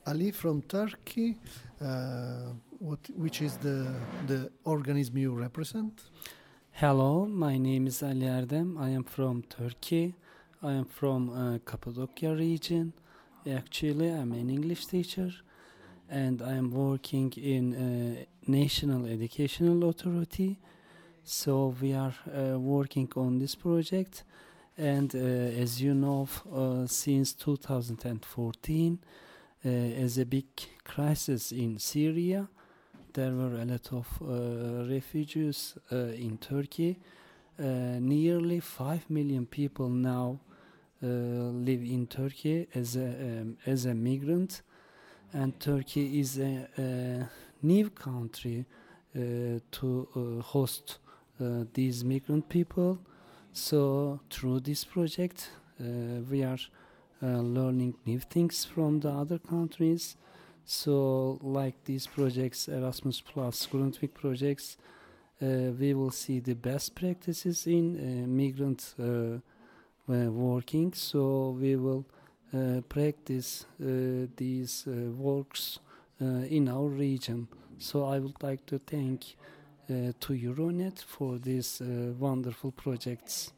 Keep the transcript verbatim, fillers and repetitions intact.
Ali from Turkey. Uh, what, which is the the organism you represent? Hello, my name is Ali Erdem. I am from Turkey. I am from uh, Cappadocia region. Actually, I'm an English teacher and I am working in uh, National Educational Authority. So we are uh, working on this project, and uh, as you know, uh, since two thousand fourteen, uh, as a big crisis in Syria, there were a lot of uh, refugees uh, in Turkey. Uh, nearly five million people now uh, live in Turkey as a um, as a migrant, and Turkey is a, a new country uh, to uh, host uh, these migrant people. So through this project, uh, we are uh, learning new things from the other countries. So like these projects, Erasmus Plus, Grundtvig projects, uh, we will see the best practices in uh, migrant uh, uh, working. So we will uh, practice uh, these uh, works uh, in our region. So I would like to thank uh, to Euronet for these uh, wonderful projects.